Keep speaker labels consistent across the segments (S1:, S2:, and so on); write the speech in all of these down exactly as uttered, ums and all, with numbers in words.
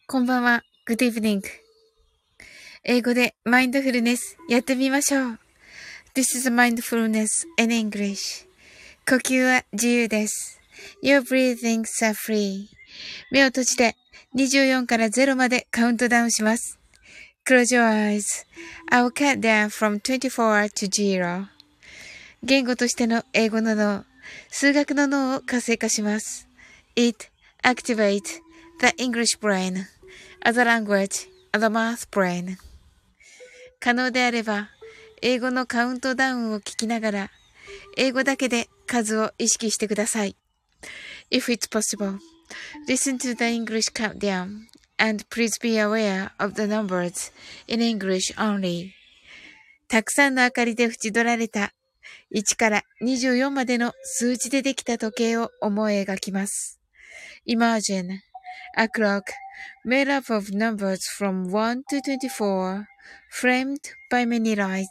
S1: こんばんは。Good evening. 英語でマインドフルネスやってみましょう。This is mindfulness in English. 呼吸は自由です。Your breathings are free. 目を閉じてにじゅうよんからゼロまでカウントダウンします。Close your eyes. I'll count down from twenty-four to zero. 言語としての英語の脳、数学の脳を活性化します。It activates the English brain.As a language, as a math brain. 可能であれば、英語のカウントダウンを聞きながら、英語だけで数を意識してください。If it's possible, listen to the English countdown, and please be aware of the numbers in English only. たくさんの明かりで縁取られたいちからにじゅうよんまでの数字でできた時計を思い描きます。Imagine a clock.Made up of numbers from one to twenty-four, framed by many lights.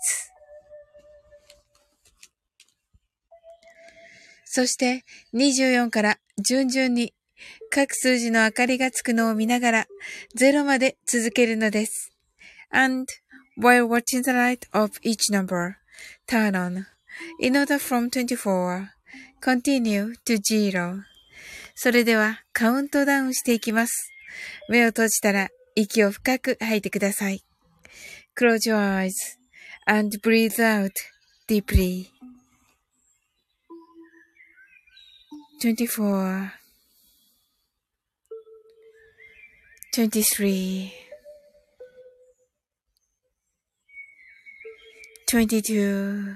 S1: そしてにじゅうよんから順々に各数字の明かりがつくのを見ながらゼロまで続けるのです。And while watching the light of each number, turn on. In order from twenty-four, continue to zero. それではカウントダウンしていきます。目を閉じたら息を深く吐いてください。Close your eyes and breathe out deeply. twenty-four, twenty-three, twenty-two,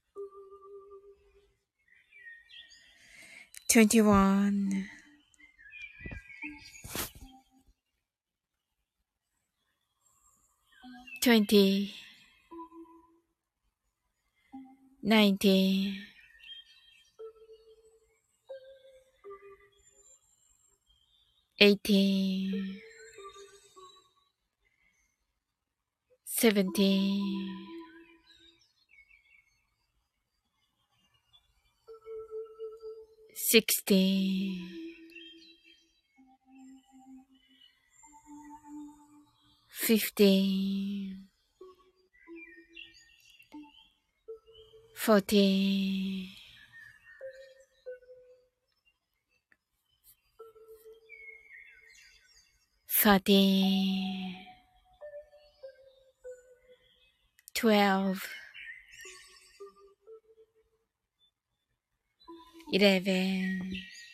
S1: twenty-one.twenty, nineteen, eighteen, seventeen, sixteen, fifteen.Fourteen, thirteen, twelve, eleven,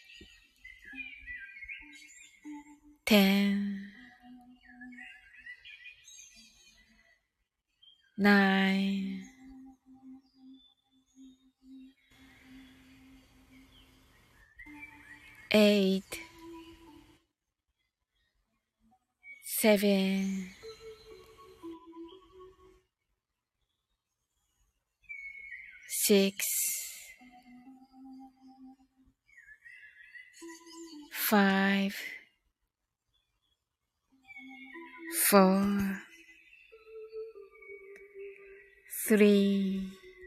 S1: ten, nine.Eight, seven, six, five, four, three,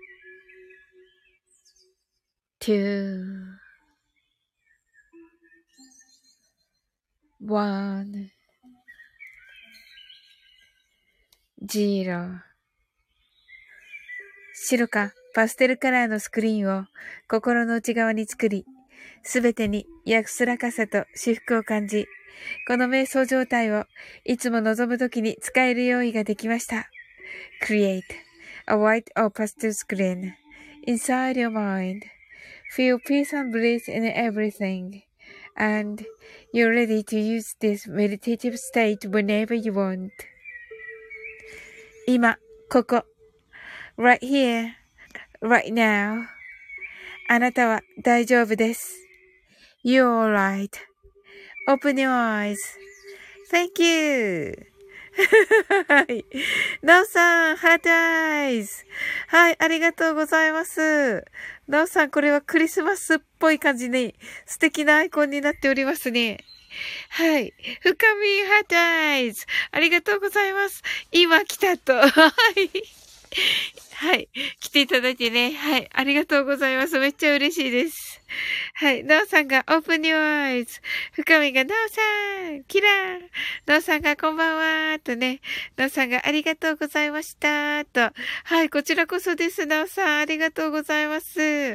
S1: two.One, zero. 白かパステルカラーのスクリーンを心の内側に作り、すべてに安らかさと至福を感じ、この瞑想状態をいつも望むときに使える用意ができました。Create a white or pastel screen inside your mind. Feel peace and bliss in everything.And you're ready to use this meditative state whenever you want. 今、ここ。right here, right now. あなたは大丈夫です。You're alright. Open your eyes. Thank you. はい。なおさん、ハートアイズ。はい、ありがとうございます。なおさん、これはクリスマスっぽい感じに素敵なアイコンになっておりますね。はい。深みハートアイズ。ありがとうございます。今来たと。はい。はい。来ていただいてね。はい。ありがとうございます。めっちゃ嬉しいです。 はい。なおさんが Open Your Eyes。深みがなおさんキラー。なおさんがこんばんは。とね。なおさんがありがとうございました。と。はい。こちらこそです。なおさんありがとうございます。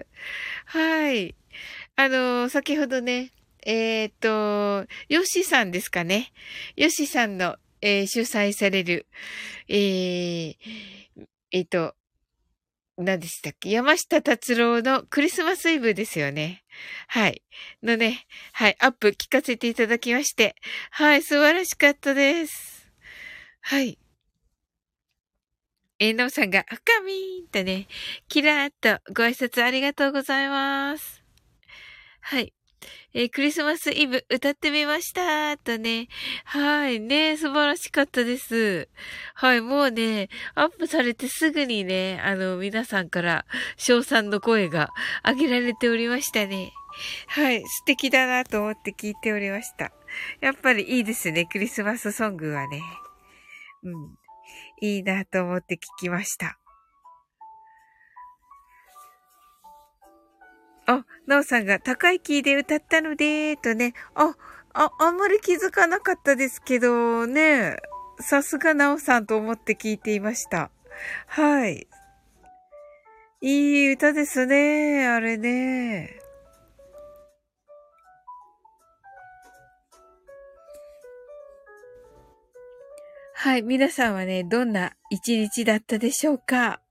S1: はい。あの、先ほどね、えっと、ヨッシーさんですかね。ヨッシーさんの、えー主催される、えー、えっと、何でしたっけ、山下達郎のクリスマスイブですよね。はい。のね、はい、アップ聞かせていただきまして。はい、素晴らしかったです。はい。えー、のうさんが、深みーんとね、キラーっとご挨拶ありがとうございます。はい。えークリスマスイブ歌ってみました。とね。はい。ね、素晴らしかったです。はい。もうね、アップされてすぐにね、あの、皆さんから賞賛の声が上げられておりましたね。はい。素敵だなと思って聞いておりました。やっぱりいいですね。クリスマスソングはね。うん。いいなと思って聞きました。あ、なおさんが高いキーで歌ったので、とね。あ、あ、あんまり気づかなかったですけど、ね。さすがなおさんと思って聞いていました。はい。いい歌ですね。あれね。はい。皆さんはね、どんな一日だったでしょうか？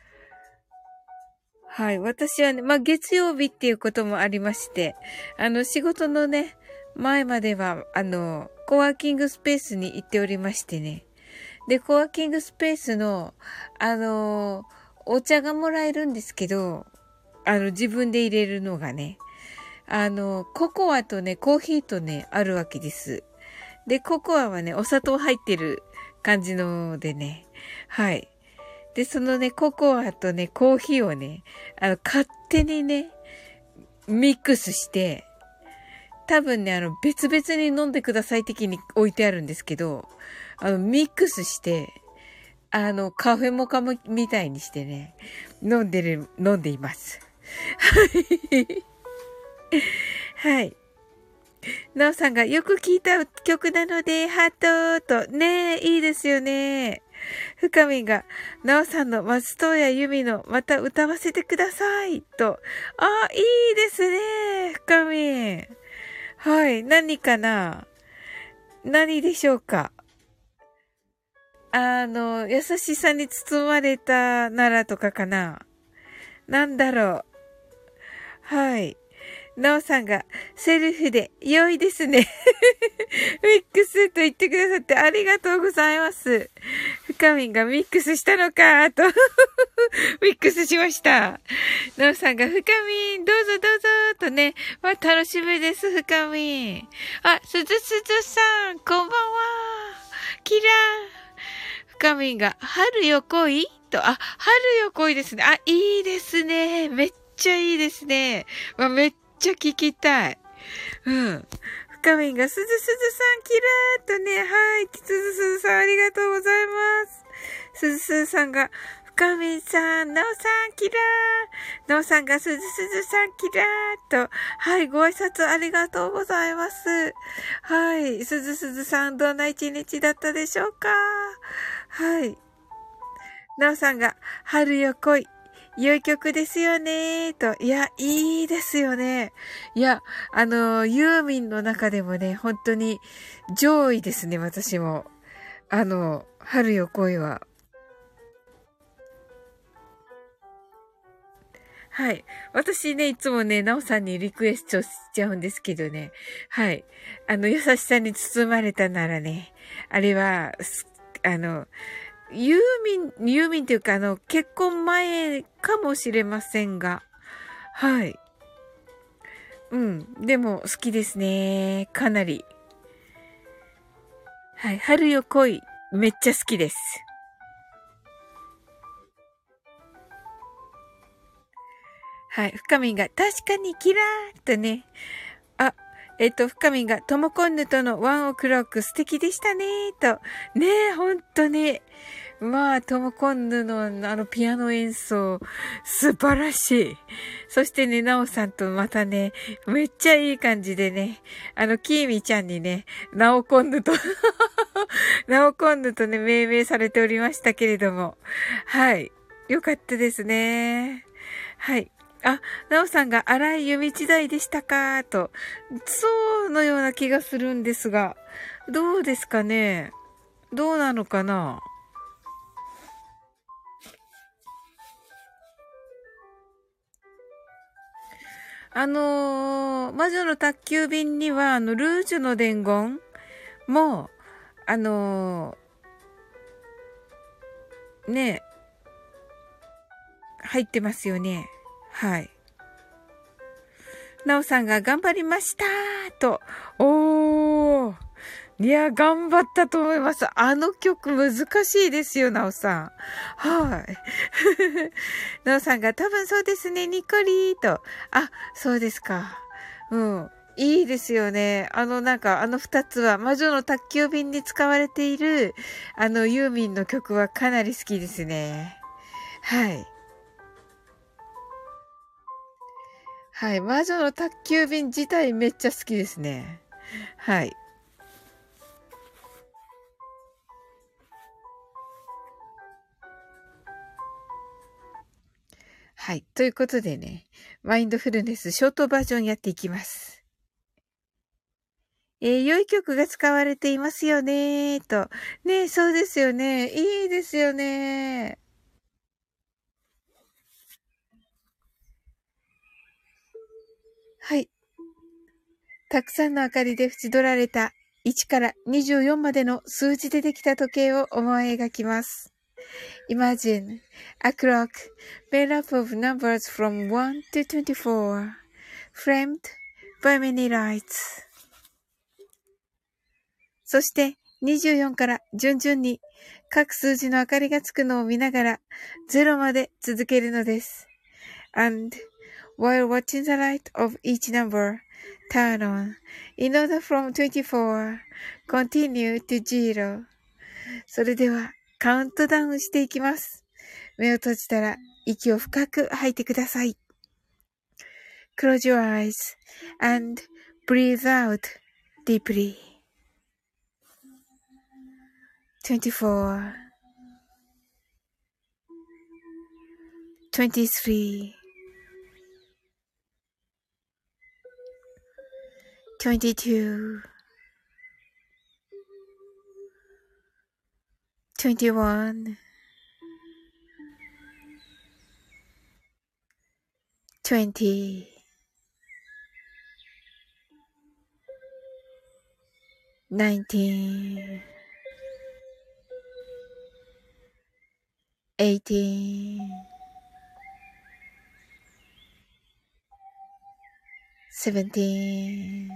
S1: はい。私はね、まあ、月曜日っていうこともありまして、あの、仕事のね、前までは、あの、コワーキングスペースに行っておりましてね。で、コワーキングスペースの、あの、お茶がもらえるんですけど、あの、自分で入れるのがね、あの、ココアとね、コーヒーとね、あるわけです。で、ココアはね、お砂糖入ってる感じのでね、はい。で、そのね、ココアとね、コーヒーをね、あの、勝手にね、ミックスして、多分ね、あの、別々に飲んでください的に置いてあるんですけど、あの、ミックスして、あの、カフェモカもみたいにしてね、飲んでる、飲んでいます。はい。なおさんがよく聞いた曲なので、ハートと、ねえ、いいですよね。深みが、なおさんの松任谷由実のまた歌わせてください。と。あ、いいですね。深み。はい。何かな？何でしょうか？あの、優しさに包まれたならとかかな？なんだろう。はい。なおさんがセルフで良いですね。ミックスと言ってくださってありがとうございます。深みんがミックスしたのかと。ミックスしました。なおさんが深みんどうぞどうぞとね。まあ、楽しみです、深みん。あ、すずすずさん、こんばんは。キラー。深みんが春よ来いと、あ、春よ来いですね。あ、いいですね。めっちゃいいですね。まあ、めっちゃ聞きたい。うん。深みんが、すずすずさん、キラーっとね、はい。すずすずさん、ありがとうございます。すずすずさんが、深みんさん、なおさん、キラー。なおさんが、すずすずさん、キラーっと、はい。ご挨拶ありがとうございます。はい。すずすずさん、どんな一日だったでしょうか？はい。なおさんが、春よ来い。良い曲ですよねと。いや、いいですよね。いや、あの、ユーミンの中でもね、本当に上位ですね、私も。あの、春よ来いは。はい。私ね、いつもね、なおさんにリクエストしちゃうんですけどね。はい。あの、優しさに包まれたならね、あれは、あの、ユーミン、ユーミンっていうか、あの、結婚前かもしれませんが、はい。うん。でも、好きですね。かなり。はい。春よ来い。めっちゃ好きです。はい。深みんが、確かにキラーとね。あ、えっと、深みんが、ともこんぬとのワンオクロック素敵でしたねと。ねえ、ほんとに。 まあ、トモコンヌのあのピアノ演奏、素晴らしい。そしてね、ナオさんとまたね、めっちゃいい感じでね、あの、キーミちゃんにね、ナオコンヌとナオコンヌとね、命名されておりましたけれども。はい。よかったですね。はい。あ、ナオさんが荒井由道代でしたかと。そうのような気がするんですが、どうですかね。どうなのかな。あのー、魔女の宅急便には、あの、ルージュの伝言も、あのー、ね、入ってますよね。はい。なおさんが頑張りましたと。おー。いや、頑張ったと思います。あの曲難しいですよ、なおさん。はい。なおさんが多分そうですね、ニコリーと。あ、そうですか。うん。いいですよね。あの、なんか、あの二つは、魔女の宅急便に使われている、あの、ユーミンの曲はかなり好きですね。はい。はい。魔女の宅急便自体めっちゃ好きですね。はい。はい。ということでね、マインドフルネスショートバージョンやっていきます。えー、良い曲が使われていますよねと。ね、そうですよね。いいですよね。はい。たくさんの明かりで縁取られたいちからにじゅうよんまでの数字でできた時計を思い描きます。Imagine a clock made up of numbers from one to twenty-four, framed by many lights. そしてにじゅうよんから順々に各数字の明かりがつくのを見ながらゼロまで続けるのです。And while watching the light of each number turn on, in order from twenty-four, continue to zero. それではカウントダウンしていきます。目を閉じたら息を深く吐いてください。Close your eyes and breathe out deeply. twenty-four, twenty-three, twenty-two, twenty-one, twenty, nineteen, eighteen, seventeen,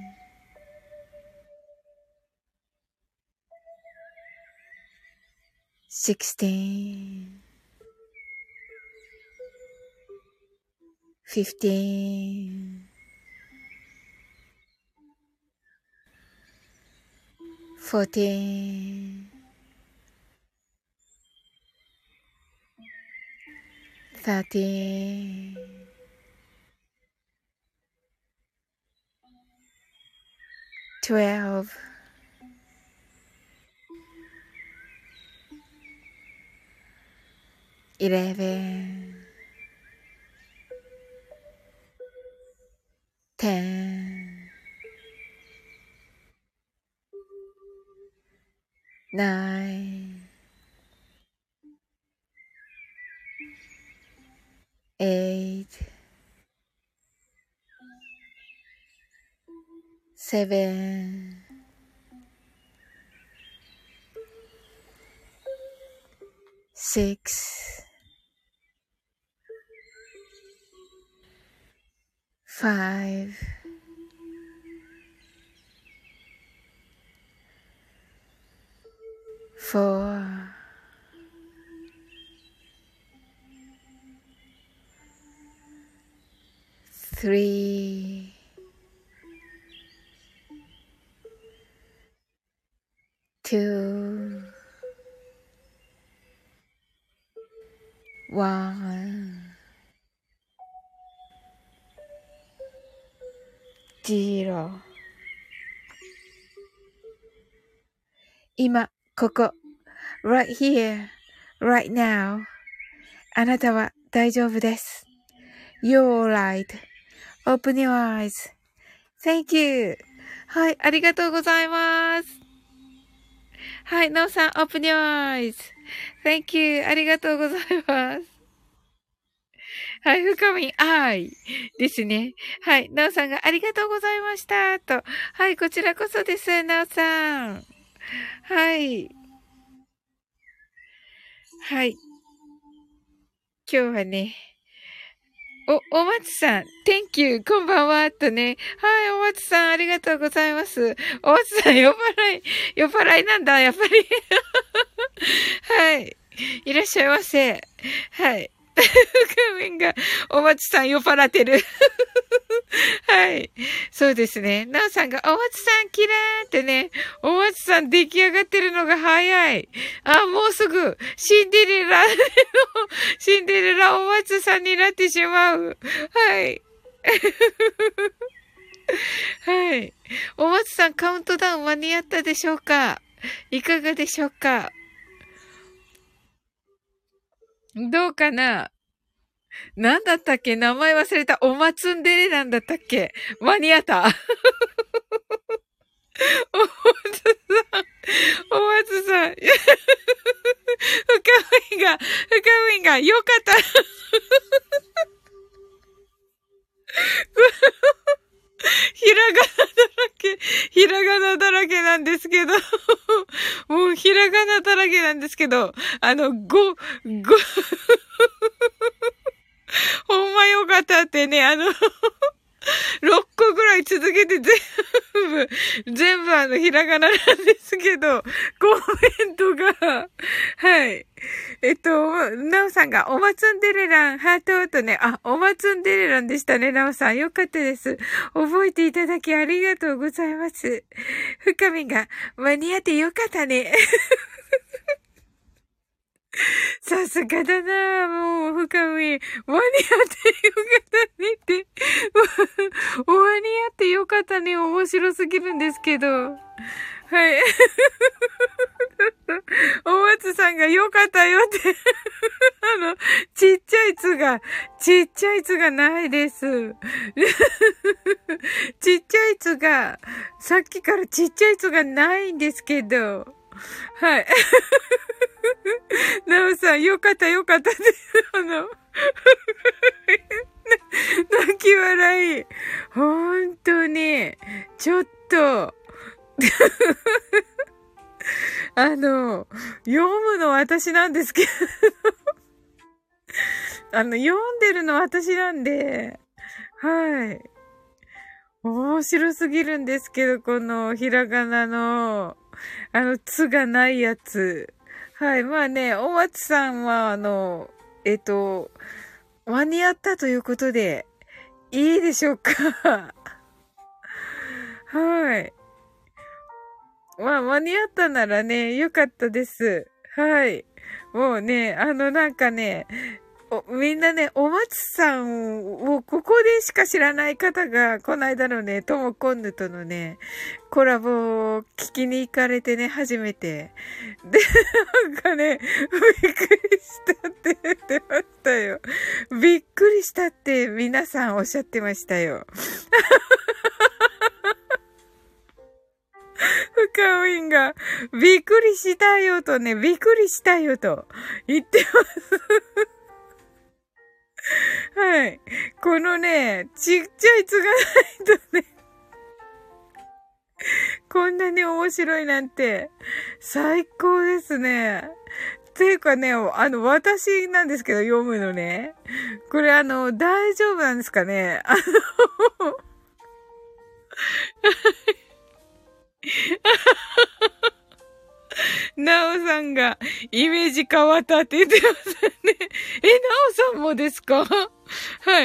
S1: sixteen, fifteen, fourteen, thirteen, twelve, eleven, ten, nine, eight, seven, six, five, four, three, two, one, zero。今、ここ、right here, right now。あなたは大丈夫です。You're right.Open your eyes.Thank you. はい、ありがとうございます。はい、なおさん、Open your eyes.Thank you. ありがとうございます。はい、深み、愛ですね。はい、なおさんがありがとうございました。と。はい、こちらこそです、なおさん。はい。はい。今日はね、お、お松さん、Thank you, こんばんは、とね。はい、お松さん、ありがとうございます。お松さん、酔っ払い、酔っ払いなんだ、やっぱり。はい。いらっしゃいませ。はい。画面が、お松さん酔っ払ってる。はい。そうですね。なおさんが、お松さんキラーってね、お松さん出来上がってるのが早い。あ、もうすぐ、シンデレラの、シンデレラお松さんになってしまう。はい。はい。お松さんカウントダウン間に合ったでしょうか？いかがでしょうか？どうかな？なんだったっけ？名前忘れた。おまつんでれなんだったっけ？間に合った。おまつさん。おまつさん。深みが、深みが、よかった。ひらがなだらけ、ひらがなだらけなんですけど、もうひらがなだらけなんですけど、あの、ご、ご、ほんまよかったってね、あの、ろっこぐらい続けて全部、全部あの、ひらがななんですけど、コメントが、はい。えっと、なおさんが、おまつんでれらん、ハートとね、あ、おまつんでれらんでしたね、なおさん。よかったです。覚えていただきありがとうございます。深みが、間に合ってよかったね。さすがだなぁ、もう、深み。間に合ってよかったねって。間に合ってよかったね。面白すぎるんですけど。はい。お松さんがよかったよって。あの、ちっちゃいつが、ちっちゃいつがないです。ちっちゃいつが、さっきからちっちゃいつがないんですけど。はい。なおさん、よかったよかったって、あの、泣き笑い。ほんとに、ちょっと、あの、読むの私なんですけど、あの、読んでるの私なんで、はい。面白すぎるんですけど、このひらがなの、あの、つがないやつ。はい。まあね、お松さんは、あの、えっと、間に合ったということで、いいでしょうか？はい。まあ、間に合ったならね、よかったです。はい。もうね、あの、なんかね、おみんなね、お松さんをここでしか知らない方が、この間のね、ともこんぬとのね、コラボを聞きに行かれてね、初めて。で、なんかね、びっくりしたって言ってましたよ。びっくりしたって皆さんおっしゃってましたよ。深みんが、びっくりしたよとね、びっくりしたよと言ってます。はい。このね、ちっちゃいつがないとね、こんなに面白いなんて、最高ですね。ていうかね、あの、私なんですけど、読むのね。これあの、大丈夫なんですかね？あの、なおさんが、イメージ変わったって言ってますね。え、なおさんもですか？はい。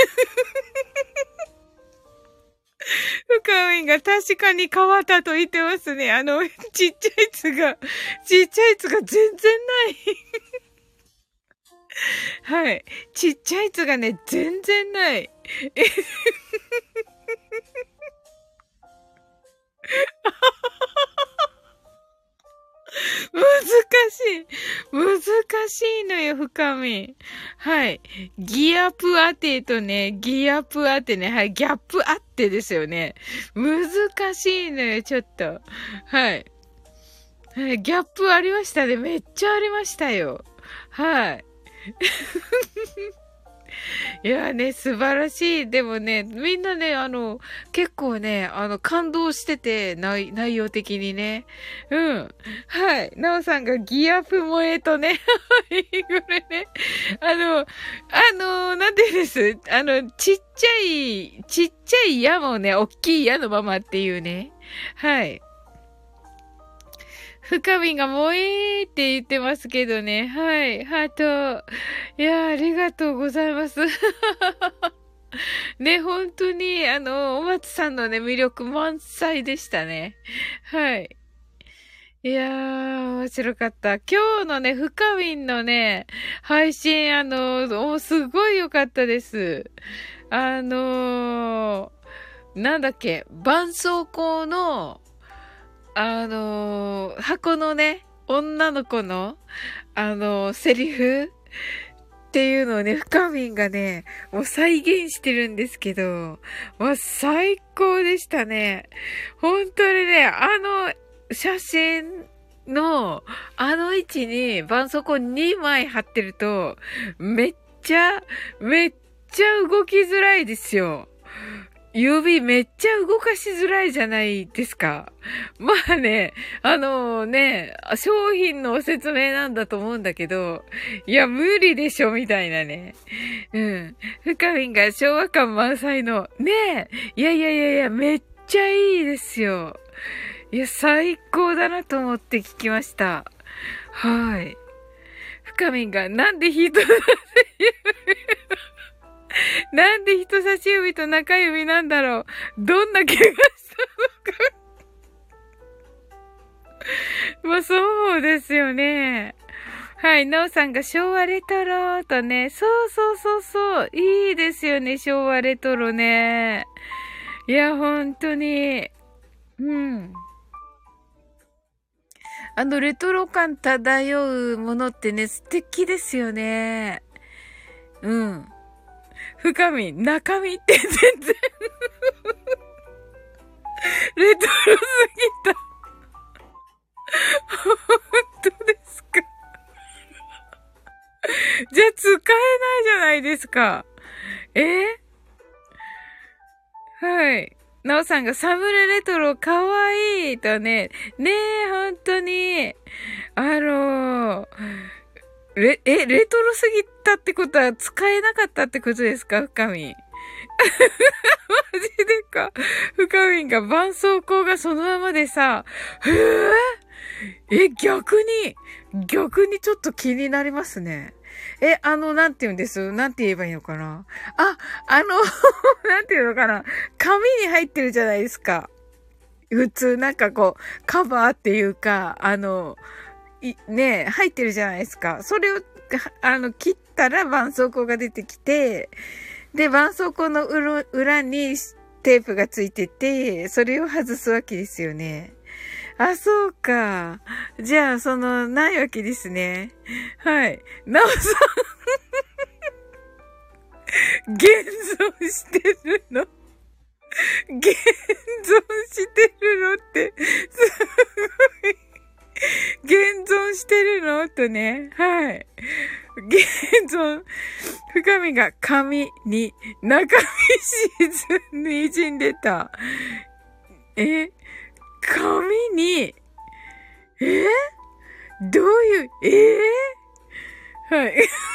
S1: 深みが確かに変わったと言ってますね。あの、ちっちゃいつが、ちっちゃいつが全然ない。 はい。ちっちゃいつがね、全然ない。難しい。難しいのよ、深み。はい。ギアップ当てとね、ギアップ当てね、はい。ギャップ当てですよね。難しいのよ、ちょっと。はい。はい。ギャップありましたね。めっちゃありましたよ。はい。いやね、素晴らしい。でもね、みんなね、あの、結構ね、あの、感動してて、内、内容的にね。うん。はい。なおさんがギアップ萌えとね。はい、これね。あの、あの、なんて言うんです。あの、ちっちゃい、ちっちゃい矢もね、おっきい矢のままっていうね。はい。深みが萌えーって言ってますけどね。はい。ハート。いやー、ありがとうございます。ね、本当に、あの、お松さんのね、魅力満載でしたね。はい。いやー、面白かった。今日のね、深みんのね、配信、あの、おすごい良かったです。あのー、なんだっけ、絆創膏の、あのー、箱のね、女の子の、あのー、セリフっていうのをね、深みんがね、もう再現してるんですけど、もう最高でしたね。本当にね、あの写真の、あの位置に絆創膏にまい貼ってると、めっちゃ、めっちゃ動きづらいですよ。指めっちゃ動かしづらいじゃないですか。まあね、あのね、商品の説明なんだと思うんだけど、いや、無理でしょ、みたいなね。うん。深みんが昭和感満載の、ねえ、いやいやいやいや、めっちゃいいですよ。いや、最高だなと思って聞きました。はい。深みんが、なんで人なんでなんで人差し指と中指なんだろう。どんな怪我したのか。まあそうですよね。はい、なおさんが昭和レトロとね、そうそうそうそう、いいですよね、昭和レトロね。いや、本当に。うん。あのレトロ感漂うものってね、素敵ですよね。うん。深み、中身って全然レトロすぎた。本当ですか。じゃあ使えないじゃないですか。えー、はい。なおさんがサムネレトロかわいいとね。ねえ、本当に。あのー、レ、え、レトロすぎたってことは使えなかったってことですか、深み。マジでか。深みが絆創膏がそのままでさ、へええ、逆に、逆にちょっと気になりますね。え、あの、なんて言うんですなんて言えばいいのかなあ、あの、なんて言うのかな紙に入ってるじゃないですか。普通、なんかこう、カバーっていうか、あの、い、ね、入ってるじゃないですか。それを、あの、切ったら絆創膏が出てきて、で、絆創膏の裏裏にテープがついてて、それを外すわけですよね。あ、そうか。じゃあ、その、ないわけですね。はい。なおさん、現存してるの現存してるのって、すごい。現存してるのとね。はい。現存、深みが紙に、中身沈んで滲んでた。え紙に、えどういう、えー、はい。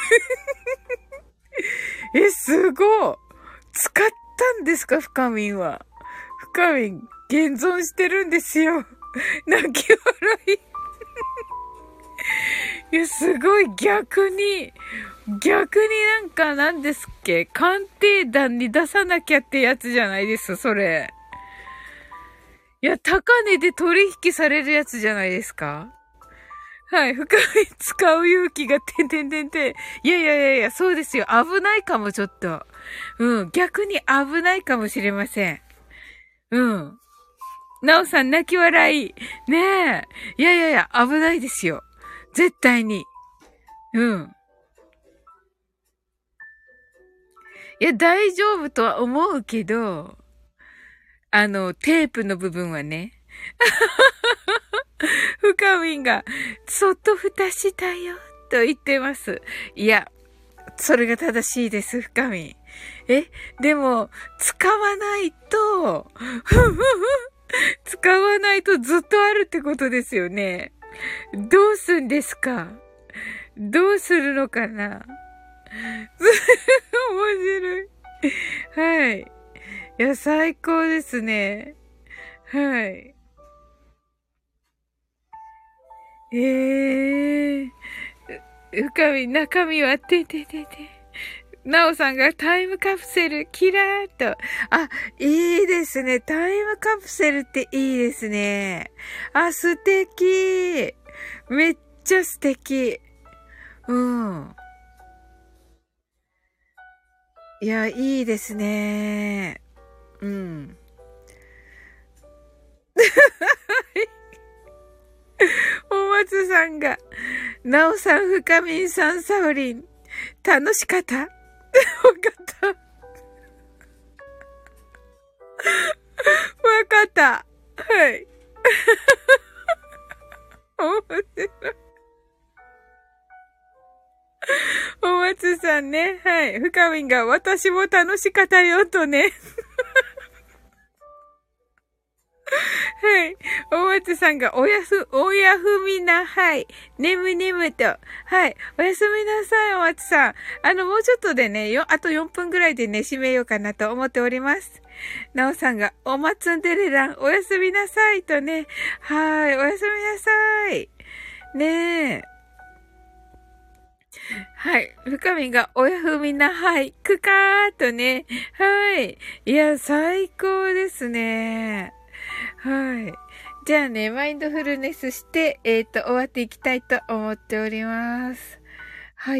S1: え、すごい。使ったんですか、深みんは。深みん、現存してるんですよ。泣き笑い。いや、すごい、逆に、逆になんか、なんですっけ、鑑定団に出さなきゃってやつじゃないです、それ。いや、高値で取引されるやつじゃないですか。 はい、深み使う勇気がてんてんてんてん。いやいやいやいや、そうですよ。危ないかも、ちょっと。うん、逆に危ないかもしれません。うん。なおさん泣き笑い。ねえ。いやいやいや、危ないですよ。絶対に。うん。いや、大丈夫とは思うけど、あの、テープの部分はね。深みが、そっと蓋したよ、と言ってます。いや、それが正しいです、深み。え、でも、使わないと、使わないとずっとあるってことですよね。どうすんですか？どうするのかな？面白い。はい。いや、最高ですね。はい。ええー。深み、中身は、てててて。なおさんがタイムカプセル、キラーっと。あ、いいですね。タイムカプセルっていいですね。あ、素敵。めっちゃ素敵。うん。いや、いいですね。うん。お松さんが、なおさん、深みんさん、サウリン、楽しかったわかったわかった。はい。面白い。お松さんね。はい。深みんが、私も楽しかったよ、とね。はい。お松さんが、おやす、おやふみな、はい。ねむねむと。はい。おやすみなさい、お松さん。あの、もうちょっとでね、よ、あとよんぷんぐらいでね、締めようかなと思っております。なおさんが、おまつんでれらん、おやすみなさいとね。はい。おやすみなさい。ねえ。はい。深みが、おやふみな、はい。くかーとね。はい。いや、最高ですね。はい。じゃあね、マインドフルネスして、えっと、終わっていきたいと思っております。はい。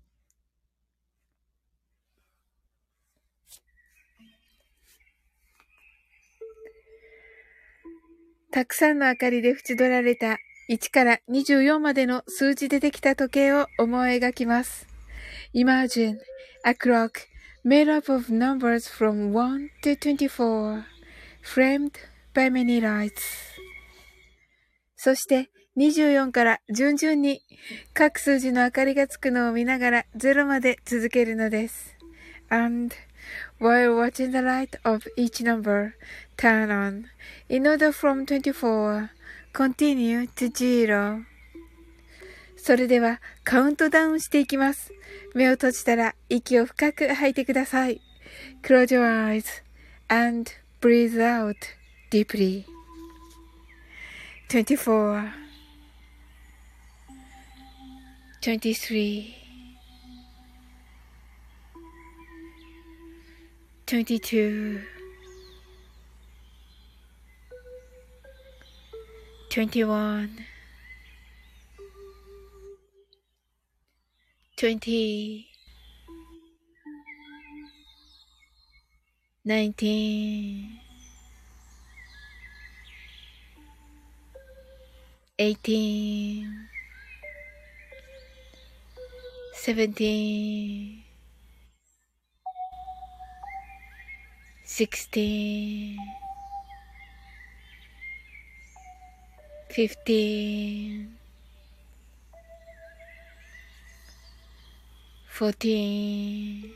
S1: たくさんの明かりで縁取られたいちからにじゅうよんまでの数字でできた時計を思い描きます。Imagine a clock made up of numbers from one to twenty-four, framed by many lights. そしてにじゅうよんから順々に各数字の明かりがつくのを見ながらゼロまで続けるのです。And while watching the light of each number turn on, in order from twenty-four, continue to zero. それではカウントダウンしていきます。目を閉じたら息を深く吐いてください。Close your eyes and breathe out deeply. twenty-four, twenty-three, twenty-two, twenty-one, twenty, nineteen, eighteen, seventeen, sixteen, fifteen, fourteen,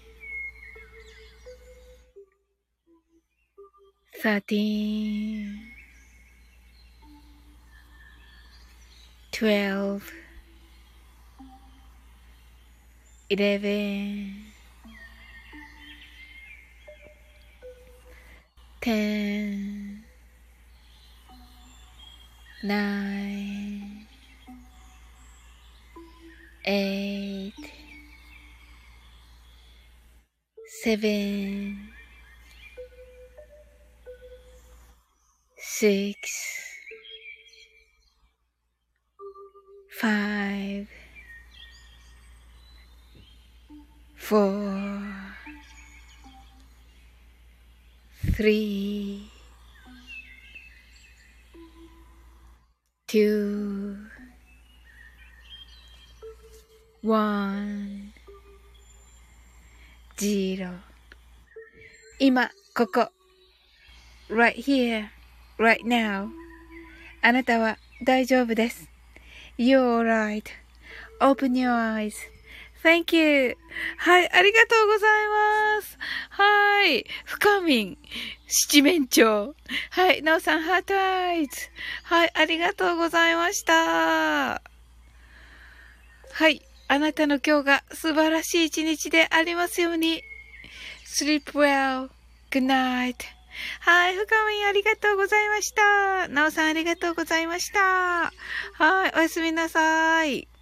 S1: thirteen, twelve, eleven, ten, nine, eight, seven, six, five, four, three, two, one, zero. 今、ここ。right here, right now. あなたは大丈夫です。You're alright.Open your eyes. Thank you. はい、ありがとうございます。はい。深み七面鳥。はい、なおさん、ハートアイズ。はい、ありがとうございました。はい、あなたの今日が素晴らしい一日でありますように。Sleep well. Good night. はい、深みありがとうございました。なおさんありがとうございました。はい、おやすみなさい。